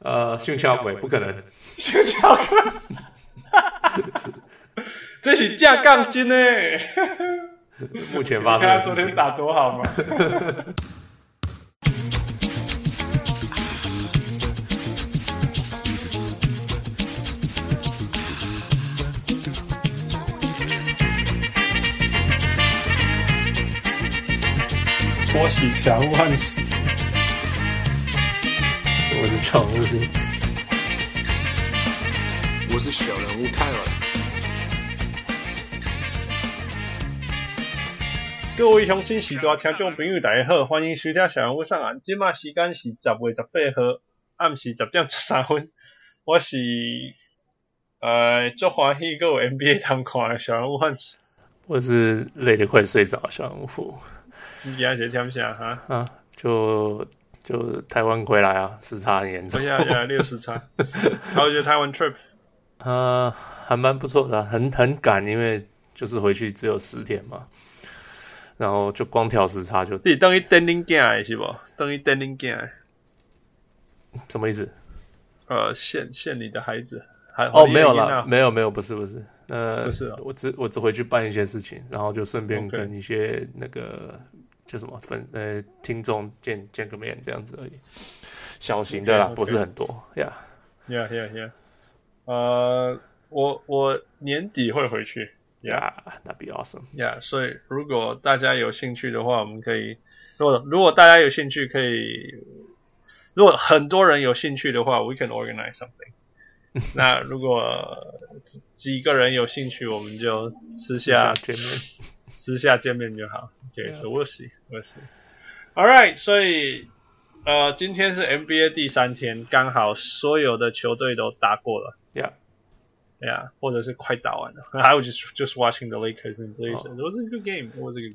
訓槍鬼不可能， 訓槍鬼，這是架槓精誒！ 目前發生的事情， 你看他昨天打多好嗎？ 我是小人物漢斯， 我是常務， 我是小人物泰勒。 各位鄉親時大聽眾朋友大家好，歡迎收聽小人物上岸。現在時間是10月18號暗時10點13分。我是最歡喜還有 NBA 通看的小人物漢斯。 我是累得快睡着的小人物富。 你今天是聽啥哈？ 啊，就台灣回來啊，時差很嚴重。 呀，6時差。How was your Taiwan trip？ 還蠻不錯的，很趕，因為就是回去只有10天嘛，然後就光調時差就。 你等於等恁囝是不？等於等恁囝。 什麼意思？ 限你的孩子。 沒有啦，沒有，不是。不是哦，我只回去辦一些事情，然後就順便跟一些那個。就什麼聽眾見個面這樣子而已，小型的啦，不是很多呀。 Yeah. 我年底會回去。 Yeah, that'd be awesome. Yeah， 所以如果大家有興趣的話，我們可以。如果大家有興趣，可以。如果很多人有興趣的話 ，we can organize something 。那如果幾個人有興趣，我們就私下見面。私下見面就好。Okay, so we'll see. All right, 所以今天是 NBA 第3天，剛好所有的球隊都打過了。Yeah, 或者是快打完了。I was just watching the Lakers and Blazers. It was a good game.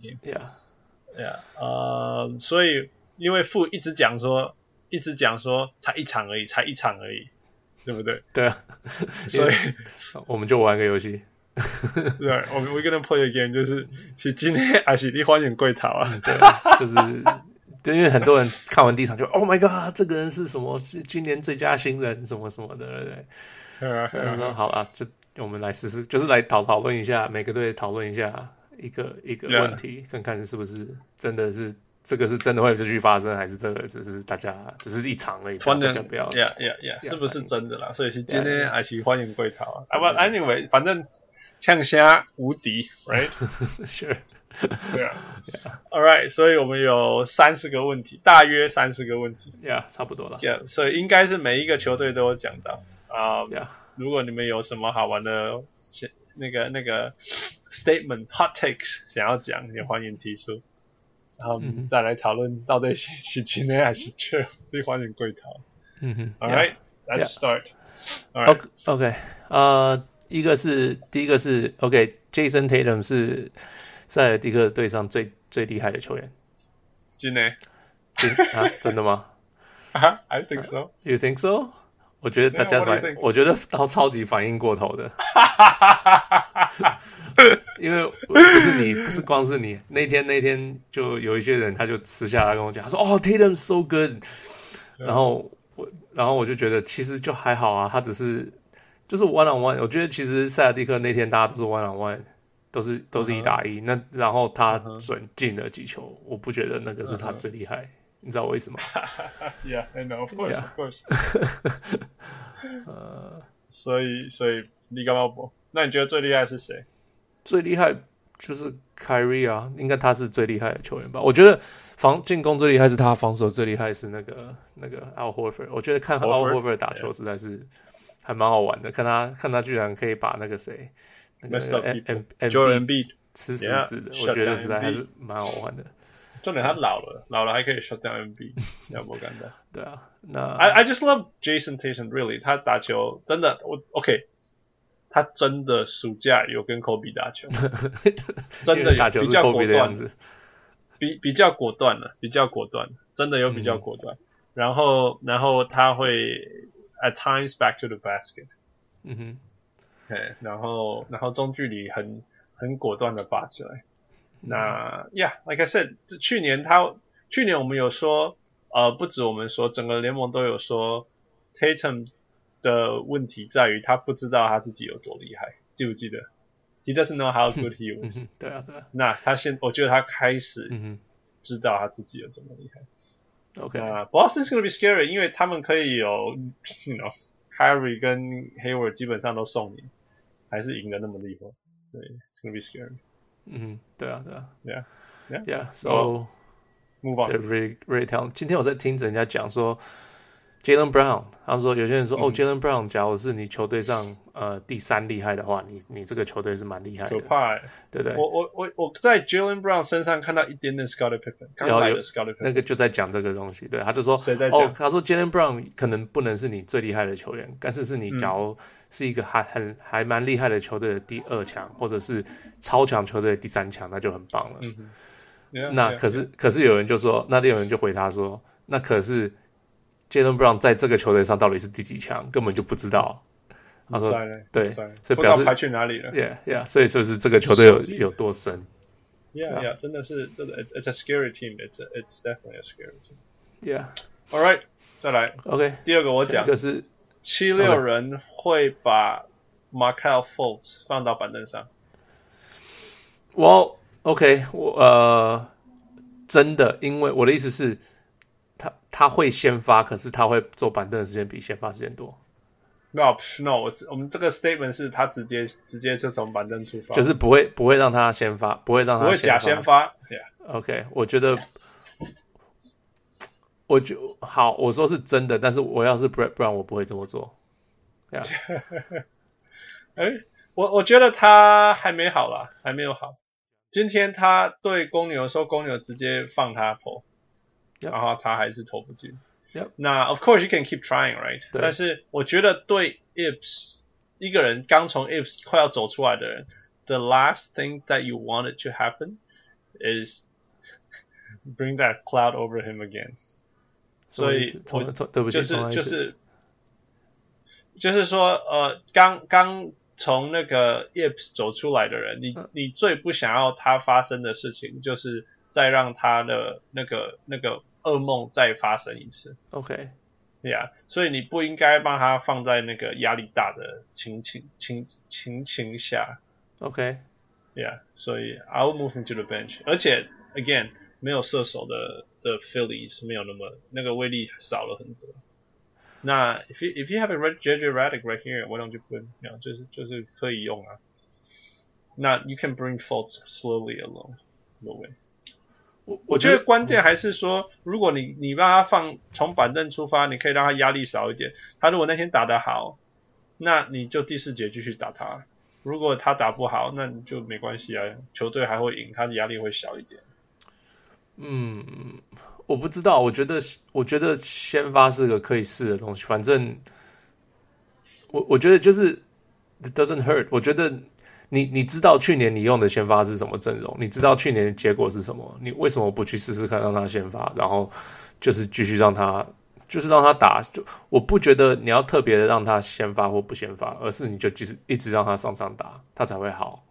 Yeah. 所以因為富一直講說才一場而已，對不對？ 對啊。 所以我們就玩個遊戲。 對，we're gonna play a game， 就是今天還是你歡迎歸逃啊？ 對，因為很多人看完第一場就 Oh my God， 這個人是什麼？是今年最佳新人什麼什麼的，對不對？然後說好了，就我們來試試，就是來討論一下，每個隊討論一下一個問題，看看是不是真的是這個是真的會繼續發生，還是這個只是大家只是一場而已，大家不要是不是真的啦？所以是今天還是歡迎歸逃啊？But anyway， 反正。嗆蝦無敵 ，right？ Sure， 對啊 ，All right， 所以我們有30個問題，大約30個問題 ，Yeah， 差不多了。 Yeah， 所以應該是每一個球隊都有講到 Yeah， 如果你們有什麼好玩的那個 statement、hot takes 想要講，也歡迎提出，然後再來討論到底是今天還是缺，你歡迎歸逃。All right，let's start。All right，OK，第一個是 OK，Jason Tatum 是塞爾蒂克隊上最厲害的球員。 真的？ 真的嗎 ？I think so. You think so? 我覺得大家我覺得他超級反應過頭的。因為不是光是你，那天就有一些人他就私下來跟我講，他說哦 Tatum so good， 然後我就覺得其實就還好啊，他只是。就是 one on one， 我覺得其實塞爾蒂克那天大家都是 one on one， 都是1打1，那然後他準進了幾球，我不覺得那個是他最厲害，你知道為什麼 ？Yeah, I know, of course. 所以你幹嘛不？那你覺得最厲害是誰？ 最厲害就是 Kyrie 啊，應該他是最厲害的球員吧？我覺得進攻最厲害是他，防守最厲害是那個 Al Horford。我覺得看 Al Horford 打球實在是。還蠻好玩的，看他居然可以把那個誰，那個 Embiid 吃死的，我覺得實在還是蠻好玩的。 重點他老了還可以 shut down Embiid， 要不幹的。 對啊，那 I just love Jason Tatum really， 他打球真的OK， 他真的暑假有跟 Kobe 打球，真的有比較果断，比較果断了，真的有比較果断。然後他会。At times back to the basket， 然後中距離很果斷的拔起來。那 Yeah，like I said， 去年我們有說，不止我們說，整個聯盟都有說 Tatum 的問題在於他不知道他自己有多厲害，記不記得 ？He doesn't know how good he was 對啊，對啊。 那我覺得他開始知道他自己有多麼厲害。Boston's gonna be scary， 因為他們可以有 Kyrie 跟 Hayward 基本上都送你，還是贏得那麼厲害。對 ，It's gonna be scary。 對啊，對啊。 Yeah. Move on. 對 ，very talented。今天我在聽人家講說 ，Jaylen Brown， 他們說有些人說Jaylen Brown， 假如是你球隊上第3厲害的話，你這個球隊是蠻厲害的。 可怕對不對？我在 Jaylen Brown 身上看到一點點 Scottie Pippen， 剛來的 Scottie Pippen， 那個就在講這個東西。對，他就說他說 Jaylen Brown 可能不能是你最厲害的球員，但是你假如是一個還蠻厲害的球隊的第2強，或者是超強球隊的第3強，那就很棒了。那可是有人就說，那有人就回他說，那可是 Jaylen Brown 在這個球隊上到底是第幾強，根本就不知道。他說对，所以表示排去哪裡了 ？Yeah， 所以就是這個球队有多深 ？Yeah， 真的是这个 ，It's a scary team. It's definitely a scary team. Yeah. All right， 再來。 OK， 第二個我講， 是 76人會把 Markelle Fultz 放到板凳上。 OK， 真的，因為我的意思是，他會先發，可是他會坐板凳的時間比先發時間多。 No， 我們這個 statement 是他直接就從板凳出發， 就是不會讓他先發，不會假先發。 OK， 我覺得好，我說是真的，但是我要是 Brett Brown， 我不會這麼做。 我覺得他還沒好啦，還沒有好。今天他對公牛說，公牛直接放他投，然後他還是投不進。那 of course you can keep trying, right？ 但是我覺得對 Ibs 一個人剛從 Ibs 快要走出來的人 ，the last thing that you wanted to happen is bring that cloud over him again。所以對不起， 就是說剛從那個 Ibs 走出來的人，你最不想要他發生的事情，就是再讓他的那個噩夢再發生一次。OK，Yeah， 所以你不應該幫他放在那個壓力大的情形下。OK，Yeah， 所以 I will move him to the bench。而且 again， 沒有射手的 Phillies 沒有那個威力少了很多。那 if you have a JJ Redick right here, why don't you put him？ 就是可以用啊。那 you can bring Fultz slowly along the way。我覺得關鍵還是說，如果你讓他從板凳出發，你可以讓他壓力少一點。他如果那天打得好，那你就第4節繼續打他。如果他打不好，那你就沒關係啊，球隊還會贏，他的壓力會小一點。 我不知道，我覺得先發是個可以試的東西。反正我覺得就是 it doesn't hurt。我覺得你知道去年你用的先發是什麼陣容，你知道去年的結果是什麼，你為什麼不去試試看讓他先發，然後就是繼續讓他打。就我不覺得你要特別的讓他先發或不先發，而是你就一直讓他上場打，他才會好。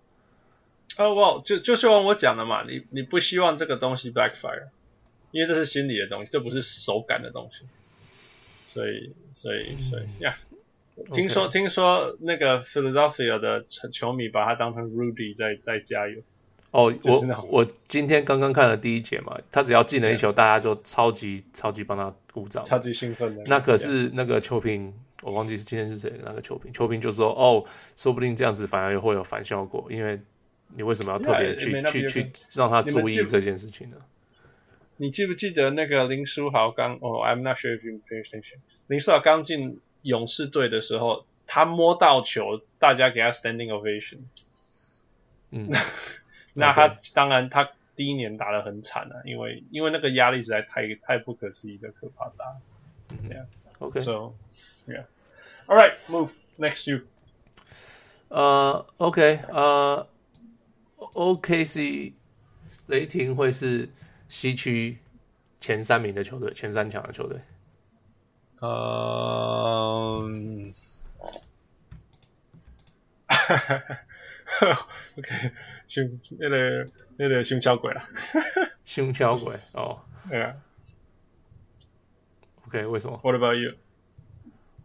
就像我講的嘛，你不希望這個東西 backfire， 因為這是心理的東西，這不是手感的東西。所以呀。聽說那個 Philadelphia 的球迷把他當成 Rudy 在加油。 我今天剛剛看了第1節嘛，他只要進了一球，大家就超級幫他鼓掌， 超級興奮的。 那可是那個球評，我忘記是今天是誰，那個球評就說說不定這樣子反而會有反效果，因為你為什麼要特別去讓他注意這件事情呢？ 你記不記得那個林書豪I'm not sure if you pay attention。林書豪剛進勇士隊的時候，他摸到球，大家給他 standing ovation。那他當然他第1年打得很慘啊，因為那個壓力實在太不可思議的可怕大。Yeah. Okay. So, yeah. All right, move next you. OK. OKC 雷霆會是西區前3名的球隊，前3強的球隊。 OK， 那個胸敲鬼啦， 胸敲鬼哦， 對啊。 OK， 為什麼 ？What about you？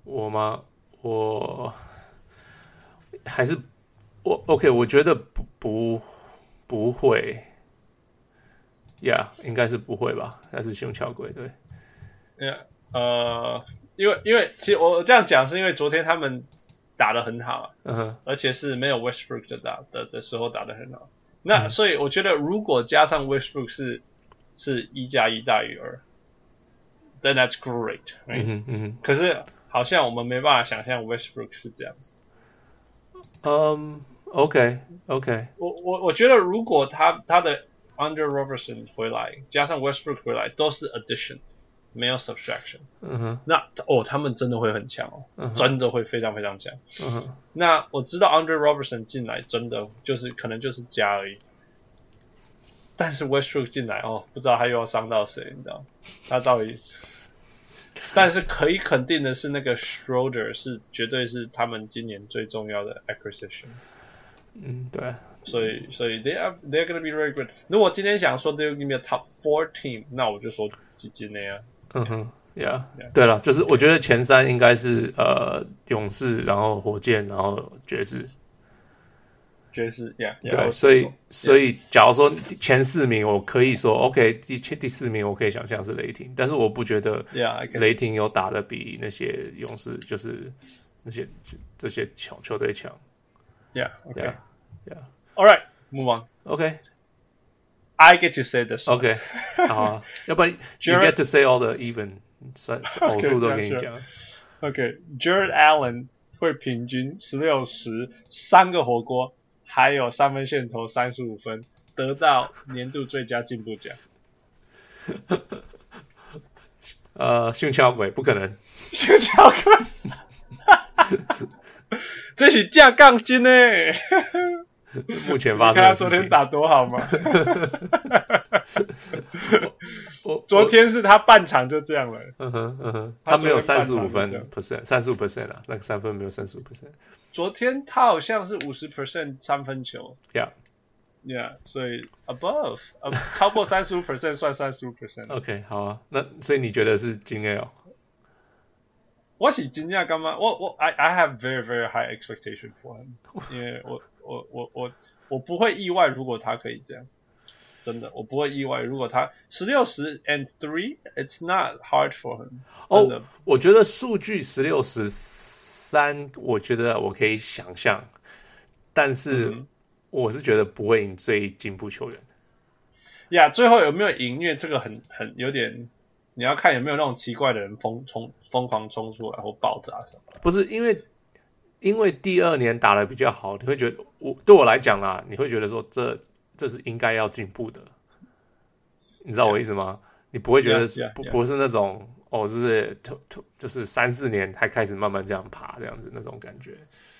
我嗎？我還是OK， 我覺得不會，Yeah， 應該是不会吧？還是熊橋鬼對 ，Yeah， 因為其實我這樣講是因為昨天他們打得很好，而且是沒有 Westbrook 的時候打得很好。那所以我覺得如果加上 Westbrook 是1+1大於2 ，then that's great，right？可是好像我們沒辦法想象 Westbrook 是這樣子。 OK， 我覺得如果他的 Andre Robertson 回來，加上 Westbrook 回來，都是 addition， 沒有 subtraction。那他們真的會很強真的會非常非常強。那我知道 Andre Robertson 進來真的可能就是加而已。但是 Westbrook 進來不知道他又要傷到誰，你知道？他到底？但是可以肯定的是，那個 Schroeder 絕對是他們今年最重要的 acquisition。 對。 所以 they're gonna be very good。如果今天想說 they're gonna be a top 4 team， 那我就說几金那樣。 Yeah， 對了，就是我覺得前3應該是勇士，然後火箭，然後爵士。 Yeah， 對，所以假如說前4名，我可以說 OK， 第4名我可以想象是雷霆，但是我不覺得雷霆有打得比那些勇士，就是這些球隊強。 Yeah，All right， move on。OK，I get to say this。 OK， 好啊，要不然 you get to say all the even， 偶数都給你講。 OK，Jared Allen 會平均16、10 3個火鍋。還有3分線投35分，得到年度最佳進步獎。 熊橋鬼不可能， 熊橋鬼，這是架槓精呢。 目前發生的事情，你看他昨天打多好嗎？昨天是他半場就這樣了。 他沒有35分 35% 啊，那個3分沒有35%。 昨天他好像是50% 三分球 ，Yeah， 所以 above 超過35% 算35%。 OK， 好啊，那所以你覺得是金 A 我是真正幹嘛？I have very very high expectation for him， 因為我不會意外如果他可以這樣，真的我不會意外如果他16、10 and 3 ，it's not hard for him。真的， 我覺得數據16、10、3，我覺得我可以想象，但是我是覺得不會贏最進步球員。 呀，最後有沒有贏？因為這個很有點。你要看有沒有那種奇怪的人瘋狂衝出來或爆炸什麼的。 不是因為第2年打得比較好，你會覺得對我來講啦，你會覺得說這是應該要進步的，你知道我意思嗎？你不會覺得不是那種就是3、4年才開始慢慢這樣爬這樣子那種感覺。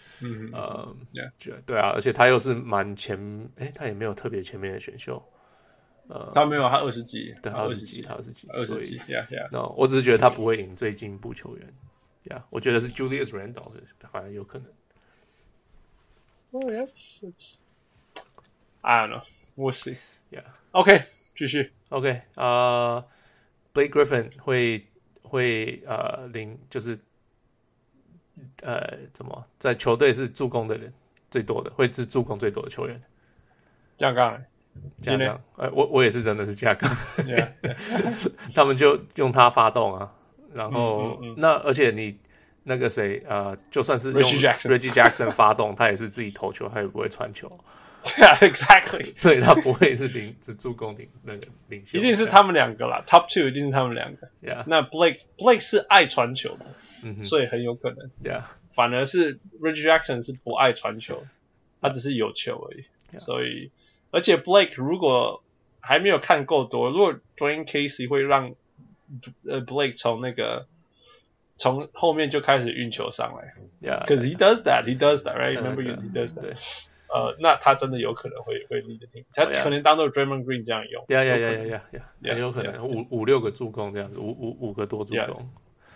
對啊，而且他又是蠻前，他也沒有特別前面的選秀。 他沒有，他20幾， 對，他20幾 ，20幾 ，Yeah， 我只是覺得他不會贏最進步球員 ，Yeah， 我覺得是 Julius Randle 反而有可能。 I don't know, we'll see. Yeah. OK， 繼續。 OK， Blake Griffin 會領就是怎麼在球隊是助攻的人最多的，會是助攻最多的球員。 這樣講。 加槓，我也是真的是加槓，他們就用他發動啊，然後那而且你那個誰就算是用 Reggie Jackson 發動，他也是自己投球，他也不會傳球。 Yeah, exactly. 所以他不會是助攻那個領袖， 一定是他們兩個啦 ，Top 2一定是他們兩個。 Yeah. 那 Blake 是愛傳球的，所以很有可能。 Yeah. 反而是 Reggie Jackson 是不愛傳球，他只是有球而已。 Yeah. 所以。而且 Blake 如果還沒有看夠多，如果 Dwayne Casey 會讓Blake 從後面就開始運球上來 ，because he does that, right? Remember he does that. 那他真的有可能會 lead the team， 他可能當做 Draymond Green 這樣用， 很有可能5、6個助攻這樣子，5個多助攻。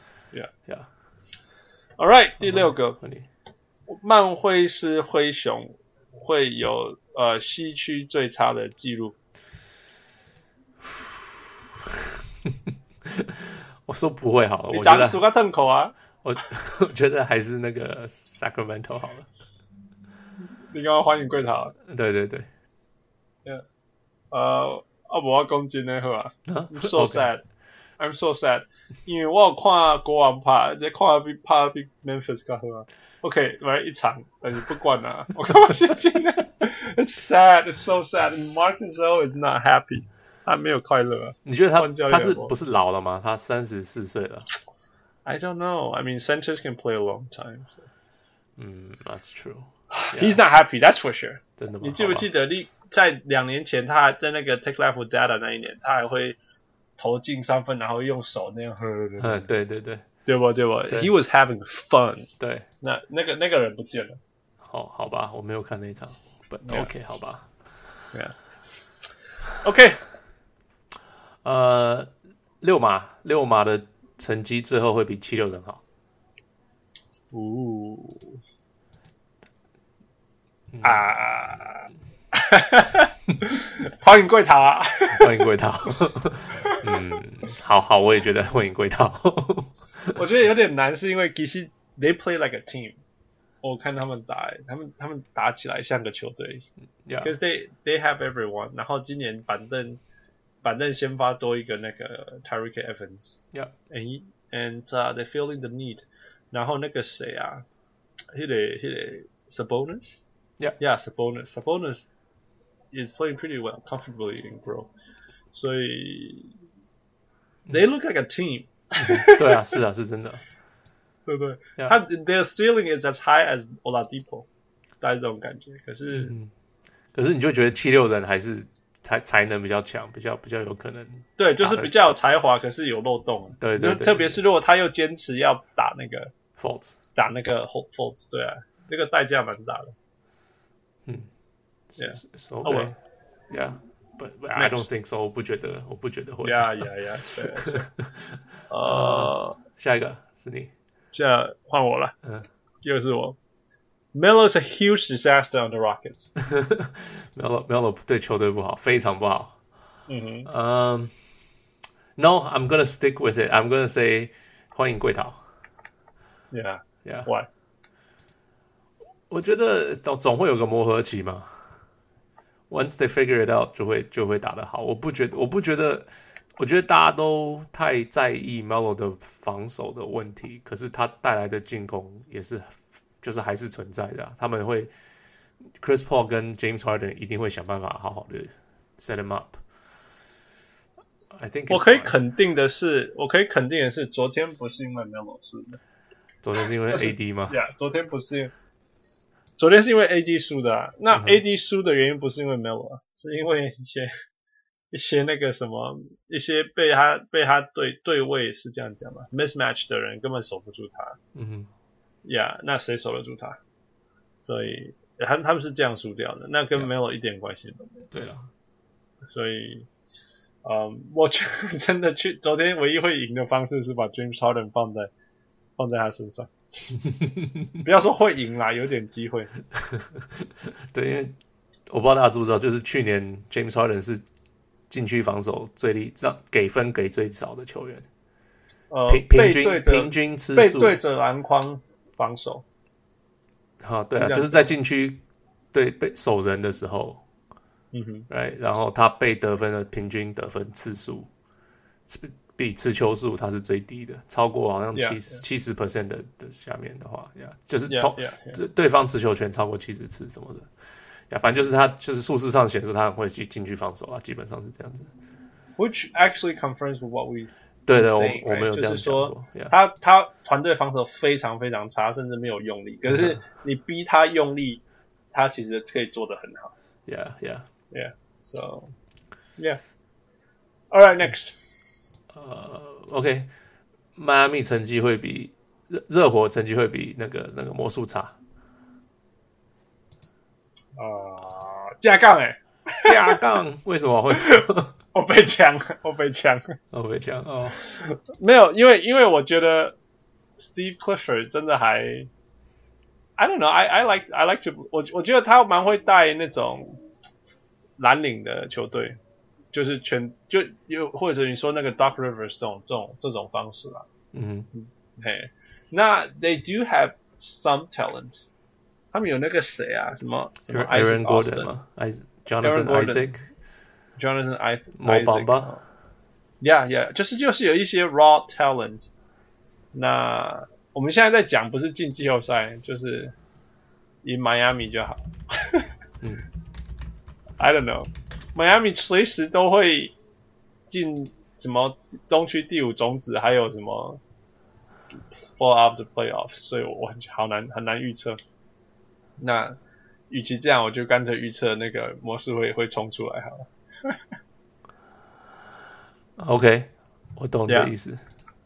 All right， 第6個，曼輝是灰熊會有。西區最差的記錄， 我說不會好了。 你長數個痛口啊！ 我覺得還是那個 Sacramento 好了。 你剛剛歡迎貴桃。 對對對。 我講真的好啊。I'm so sad. I'm so sad. 因為我有看國王拍，這看比拍比 Memphis 更好啊。OK， 來一場，但是不管啦。我幹嘛是真的 ？It's sad. It's so sad. And Marc Gasol is not happy. 他沒有快樂啊。 你覺得他是不是老了嗎？他34歲了。 I don't know. I mean, centers can play a long time. So. That's true. He's not happy. That's for sure. 真的嗎？ 你記不記得在2年前，他在那個 Take Life with Data 那一年，他還會投進3分，然後用手那樣喝。 對对对， 對不？ He was having fun. 對， 那個人不見了。 好吧，我沒有看那一場。But OK， 好吧。 Yeah. OK。 六馬的成績最後會比76人好。 歡迎貴桃啊！ 歡迎貴桃。好，我也覺得歡迎貴桃。 我覺得有點難，是因為其實 they play like a team。我看他們打，他們打起來像個球隊。Because they have everyone。然後今年板凳先發多一個那個 Tyreke Evans。And they're feeling the need。然後那個誰啊，那個 Sabonis。Yeah, Sabonis is playing pretty well, comfortably in Grove. 所以 they look like a team. 對啊，是啊，是真的。 对不對？他 their ceiling is as high as Oladipo， 大概這種感覺。可是你就覺得76人還是才能比較強，比較有可能。 對，就是比較有才華，可是有漏洞。 對， 特別是如果他又堅持要打那個 Fultz， 打那個 Fultz， 對啊，那個代價蠻大的。 Yeah. Yeah. But I don't think so. 我不覺得會。 Yeah. 下一個是你。 現在換我了。又是我。Melo is a huge disaster on the Rockets. Melo 對球隊不好，非常不好。No, I'm gonna stick with it. I'm gonna say 歡迎貴桃。 Yeah. Why? 我覺得總會有個磨合期嘛。Once they figure it out， 就會打得好。我覺得大家都太在意 Melo 的防守的問題，可是他帶來的進攻也是，就是還是存在的他們會 Chris Paul 跟 James Harden 一定會想辦法好好的 set him up。I think 我可以肯定的是，昨天不是因為 Melo 輸的。 昨天是因為 AD 嗎？ 昨天不是。昨天是因為 AD 輸的啊，那 AD 輸的原因不是因為 Melo 啊，是因為一些那個什麼，一些被他對位是這樣講嘛 ，mismatch 的人根本守不住他。那誰守得住他？所以他們是這樣輸掉的，那跟 Melo 一點關係都沒有。 對了，所以我覺得真的昨天唯一會贏的方式是把 James Harden 放在他身上。不要說會贏啦，有點機會。 對，因為我不知道大家知不知道，就是去年 James Harden 是禁區防守給分給最少的球員。平均次數背對着籃筐防守。 對啊，就是在禁區被守人的時候，right， 然後他被得分的平均得分次數。比持球數它是最低的，超過好像70% 的下面的話，就是對方持球權超過70次什麼的，反正就是他就是數字上顯示他很會進去防守啊，基本上是這樣子。 Which actually confirms with what we 對的，我們有這樣講過， 就是說他團隊防守非常非常差，甚至沒有用力，可是你逼他用力，他其實可以做得很好。So all right, next. OK， 邁阿密成績會比熱火成績會比那個魔術差。 加槓加槓，為什麼？ 我被搶沒有，因為我覺得 Steve Clifford 真的還 I don't know, I like to 我覺得他蠻會帶那種藍領的球隊。就是或者你說那個 Doc Rivers 這種方式啦， 那 they do have some talent， 他們有那個誰啊，什麼 Aaron Gordon 嗎 ？Jonathan Isaac，Jonathan Mo Bamba， 就是有一些 raw talent。那我們現在在講不是進季後賽，就是贏邁阿密就好。I don't know， 邁阿密隨時都會進什麼東區第5種子，還有什麼 fall out of the playoffs， 所以我很難預測。那與其這樣，我就乾脆預測那個魔術會衝出來好了。 OK， 我懂你的意思。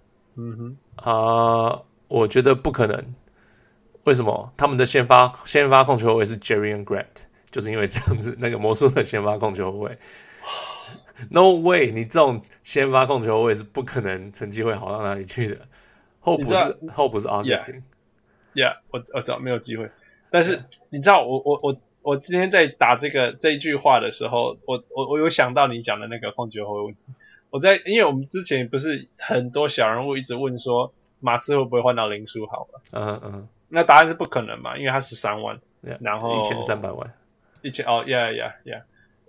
我覺得不可能。為什麼？他們的先發控球後衛是 Jerian Grant， 就是因為這樣子，那個魔術的先發控球後衛。No way！ 你這種先發控球後衛是不可能成績會好到哪裡去的。後不是 Augustine。Yeah， 我知道沒有機會。但是你知道，我今天在打這一句話的時候，我有想到你講的那個控球後衛問題。因為我們之前不是很多小人物一直問說馬刺會不會換到林書豪嘛？那答案是不可能嘛，因為他13萬，然後 1300萬 ，1300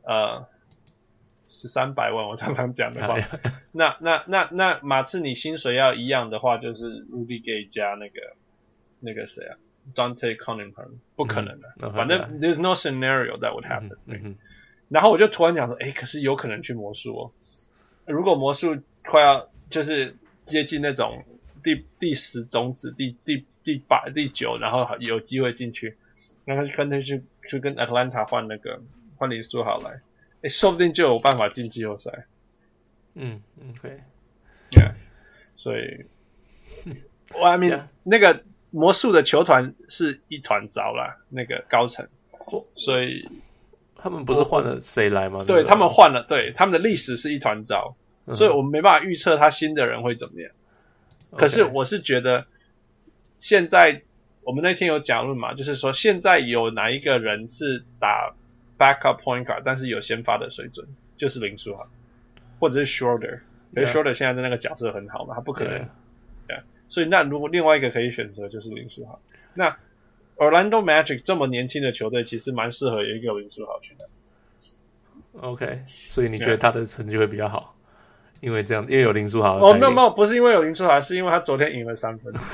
萬，我常常講的話。那馬刺你薪水要一樣的話，就是 Rudy Gay 加那個誰啊 ，Dante Cunningham， 不可能的。反正 there's no scenario that would happen。然後我就突然講說，可是有可能去魔術哦。如果魔術快要就是接近那種第10種子、第8、第9，然後有機會進去，然後乾脆去跟 Atlanta 換林書豪來，說不定就有辦法進季後賽。 OK， 所以I mean 那個魔術的球團是一團糟啦，那個高層，所以。 他們不是換了誰來嗎？ 對，他們換了，對，他們的歷史是一團糟，所以我們沒辦法預測他新的人會怎麼樣。可是我是覺得，現在我們那天有講論嘛，就是說現在有哪一個人是打 backup point guard， 但是有先發的水準，就是林書豪，或者是 Schroeder， 因為 Schroeder 現在的那個角色很好嘛，他不可能。所以那如果另外一個可以選擇就是林書豪，那。Orlando Magic 這麼年輕的球隊，其實蠻適合有一個林書豪去的。 OK， 所以你覺得他的成績會比較好？因為有林書豪。 沒有，不是因為有林書豪，是因為他昨天贏了3分。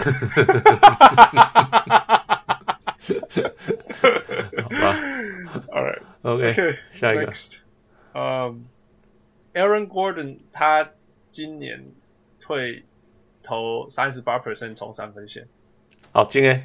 好吧。 All right. OK， 下一個。 Aaron Gordon 他今年會投 38% 從3分線。 好，今年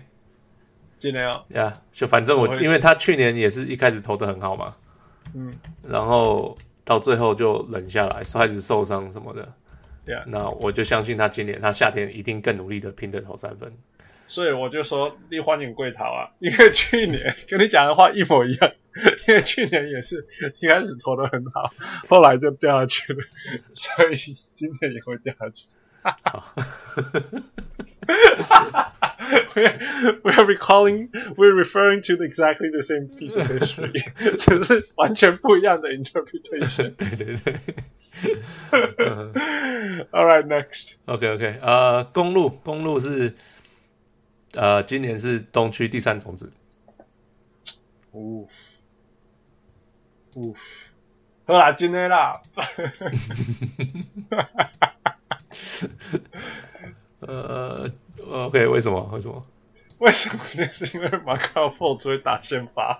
就反正因為他去年也是一開始投得很好嘛，然後到最後就冷下來，開始受傷什麼的，那我就相信他今年他夏天一定更努力的拼着投3分， 所以我就說你歡迎貴桃啊，因為去年跟你講的話一模一樣，因為去年也是一開始投得很好，後來就掉下去了，所以今年也會掉下去。We're referring to exactly the same piece of history， 只是完全不一樣的 interpretation。 對。 All right, next. OK， 公路是今年是東區第3種子。 好啦，今天啦。 OK， 為什麼？ 那是因為馬卡福只會打先發。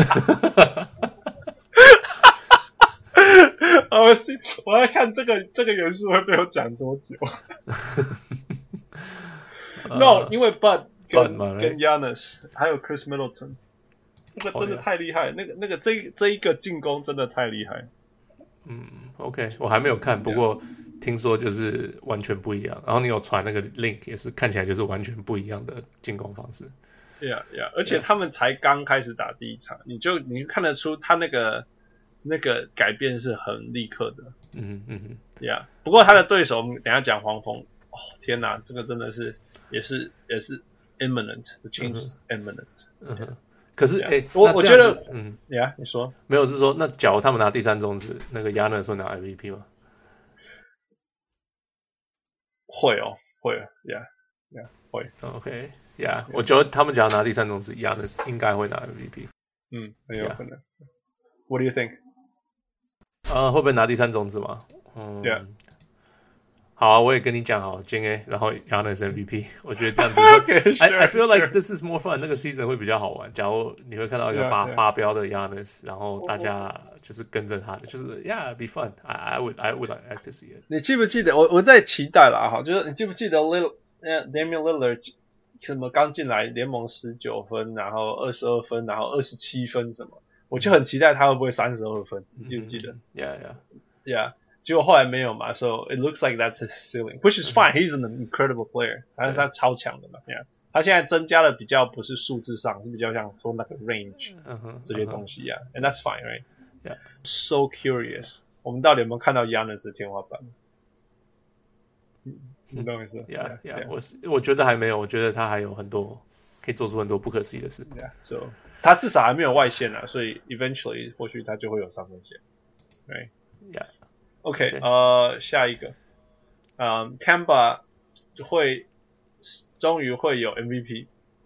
我要看這個元素會被我講多久。No， 因為 Bud 跟 Giannis 還有 Chris Middleton， 那個真的太厲害，那個這一個進攻真的太厲害。 OK， 我還沒有看，不過聽說就是完全不一樣。然後你有傳那個 link， 也是看起來就是完全不一樣的進攻方式。 Yeah， 而且他們才剛開始打第一場，你看得出他那個改變是很立刻的。Yeah， 不過他的對手，我們等一下講黃蜂。天哪，這個真的是也是 imminent，the change is imminent。 可是我覺得你說沒有，是說那假如他們拿第3種子，那個 Giannis 會拿 MVP 嗎？ 會 ，Yeah， 會 OK，Yeah， 我觉得他們只要拿第3種子，Giannis應該會拿 MVP。 很有可能。What do you think？ 會不會拿第3種子嘛 ？Yeah。 好啊，我也跟你講好，今天然後 Giannis MVP， 我覺得這樣子I feel like this is more fun， 那個 season 會比較好玩。假如你會看到一個發飆的 Giannis， 然後大家就是跟着他的，就是 be fun。I would like to see it。 你記不記得我在期待啦哈，就是你記不記得 Damian Lillard 什麼剛進來聯盟19分，然後22分，然後27分什麼，我就很期待他會不會32分，你記不記得 ？Yeah。 結果後來沒有嘛 ，so it looks like that's his ceiling, which is fine. He's an incredible player， 但是他超強的嘛，他現在增加的比較不是數字上，是比較像說那個 range 這些東西啊 ，and that's fine, right? Yeah. So curious， 我們到底有沒有看到 Giannis 的天花板？你懂我意思 ？Yeah， 我覺得還沒有，我覺得他還有很多可以做出很多不可思議的事。 So 他至少還沒有外線啊，所以 eventually 或許他就會有3分線 ，right? Yeah.OK， 下一個，Kemba 終於會有 MVP，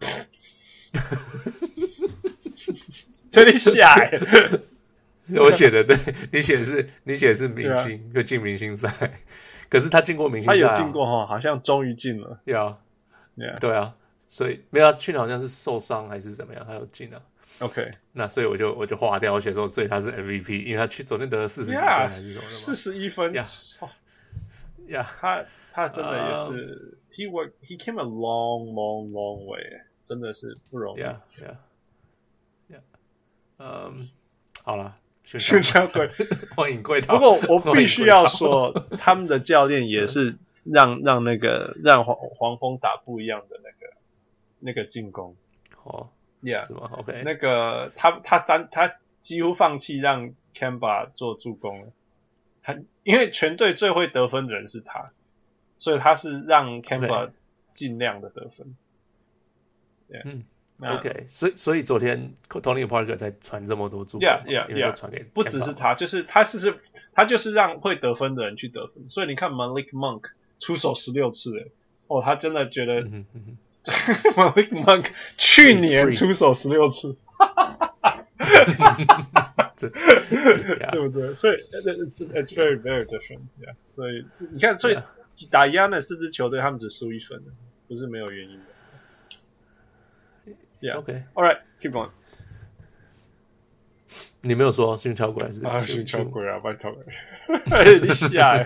這裡下來， 我寫的對，你寫的是明星，就進明星賽，可是他進過明星賽， 他有進過哈，好像終於進了， 對啊，所以沒有，去年好像是受傷還是怎麼樣，他有進啊。OK， 那所以我就劃掉，我寫說，所以他是 MVP， 因為他昨天得了40幾分還是什麼的 ，41分他真的也是，he came a long way， 真的是不容易。 好啦， 宣教鬼， 歡迎歸島。 不過我必須要說，他們的教練也是讓黃蜂打不一樣的那個進攻。 是嗎 ？OK， 那個他幾乎放棄讓 Kemba 做助攻了，因為全隊最會得分的人是他，所以他是讓 Kemba 盡量的得分。 OK， 所以昨天 Tony Parker 才傳這麼多助攻，因為都傳給 Kemba， 不只是他，就是他就是讓會得分的人去得分，所以你看 Malik Monk 出手16次，他真的覺得。Malik Monk 去年出手16次，對不對？所以 it's very very different， 所以你看，所以打 Giannis 這支球隊，他們只輸1分，不是沒有原因的。 OK， all right， keep going。 你沒有說訓巧鬼還是訓巧鬼啊？拜託，你下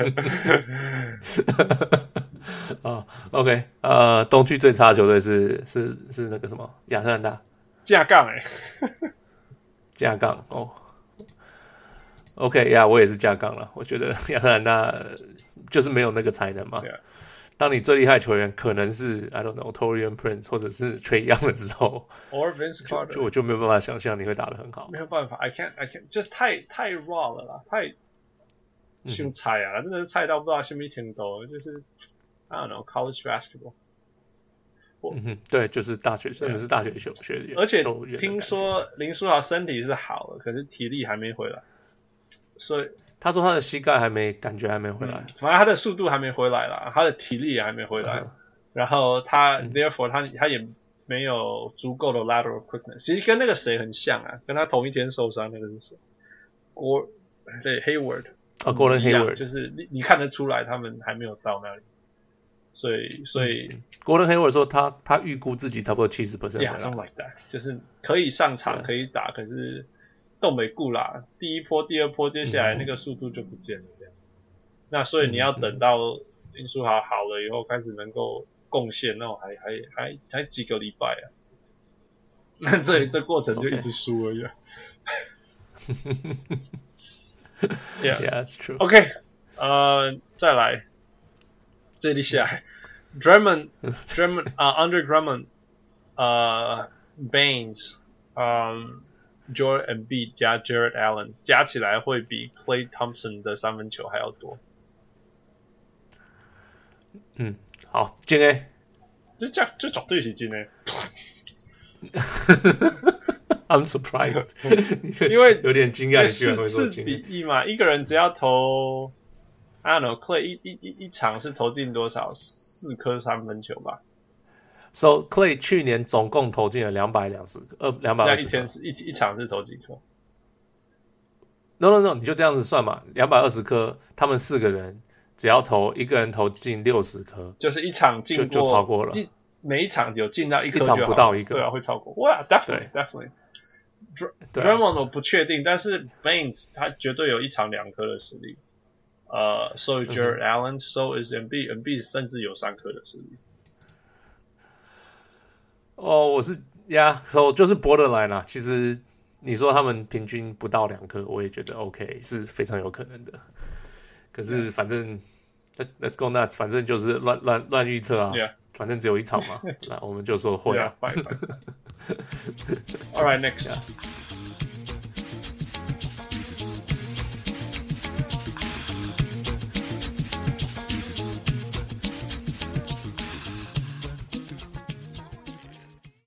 OK， 東區最差的球隊是那個什麼亞特蘭大架槓架槓哦。OK 呀，我也是架槓了。我覺得亞特蘭大就是沒有那個才能嘛。當你最厲害的球員可能是 I don't know Taurean Prince 或者是 Trae Young 的時候 ，or Vince Carter， 我就沒有辦法想象你會打得很好。 沒有辦法 ，I can't， 就是太 raw 了啦，太兇菜啊，真的是菜到不知道什麼程度，就是。I don't know college basketball。 對，就是大學，真的是大學球員。 而且聽說林書豪身體是好了，可是體力還沒回來，所以他說他的膝蓋感覺還沒回來， 反正他的速度還沒回來啦，他的體力也還沒回來，然後他 therefore 他也沒有足夠的 lateral quickness， 其實跟那個誰很像啊，跟他同一天受傷那個是誰？Hayward。Gordon Hayward， 就是你看得出來他們還沒有到那裡。所以 Gordon Hayward 說他預估自己差不多70%回來 something like that， 就是可以上場可以打，可是動沒顧啦，第一波第二波接下來那個速度就不見了這樣子。那所以你要等到林書豪好了以後開始能夠貢獻，那種還幾個禮拜啊，那這過程就一直輸而已。 Yeah, it's true. OK， 再來。這裡下來 Drummond Andre Drummond Baines Joel Embiid 加 Jared Allen 加起來會比 Klay Thompson 的3分球還要多。 好，進 A， 這絕對是進 A。 I'm surprised， 因為有點驚訝，你居然會說4比1嘛，一個人只要投。I don't know， Klay 一場是投進多少？4顆3分球吧。 So Clay 去年總共投進了220顆，220顆。 那一天是一場是投幾顆 ？No， 你就這樣子算嘛，220顆，他們4個人只要一個人投進60顆， 就是一場進过就超過了。 每一場有進到一顆一場不到一個， 對啊，會超過。哇 ，definitely。Drummond 我不確定，但是 Baines 他絕對有1場2顆的實力。So is Jared Allen, so is Embiid 甚至有3顆的實力。 我是so 就是 borderline 啦。其實你說他們平均不到2顆，我也覺得 OK， 是非常有可能的。可是反正 let's go nuts， 反正就是亂預測啊。 Yeah. 反正只有1場嘛，那我們就說會啊。 All right, next.